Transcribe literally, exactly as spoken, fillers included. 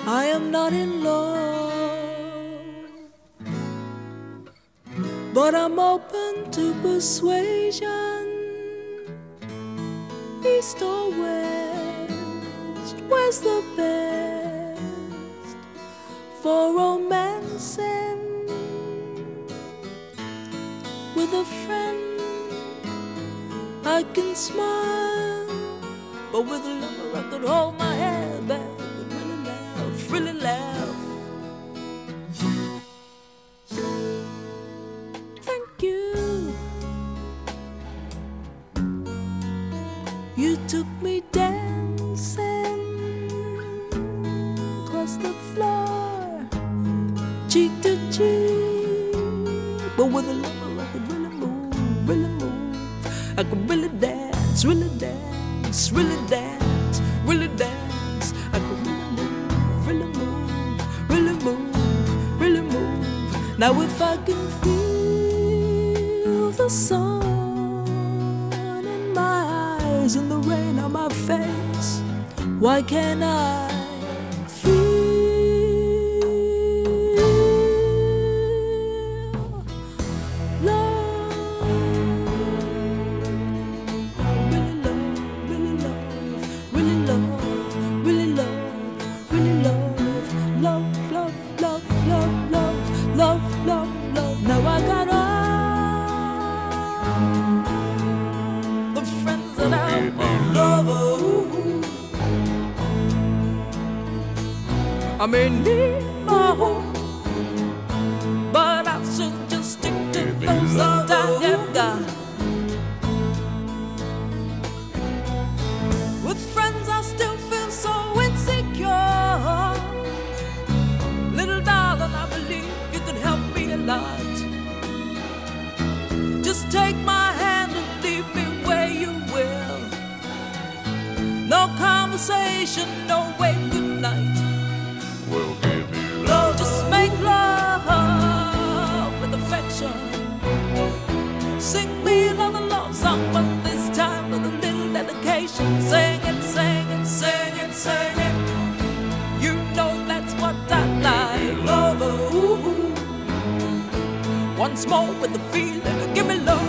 I am not in love, but I'm open to persuasion. East or west, where's the best for romancing? With a friend I can smile, but with a lover I could hold my head back and really laugh, really laugh. Thank you. You took me dancing across the floor, cheek to cheek, but with a lover I could really move, really move. I could really dance, really dance, really dance, really dance. I could really move, really move, really move, really move. Now if I can feel the sun in my eyes and the rain on my face, why can't I feel I may need my home, but I should just stick to those that I have got. With friends I still feel so insecure. Little darling, I believe you could help me a lot. Just take my hand and lead me where you will. No conversation, no way, good night. We'll give you love. Just make love with affection. Sing me another love song, but this time with a little dedication. Sing it, sing it, sing it, sing it. You know that's what I like. Love, ooh. Once more with the feeling, give me love.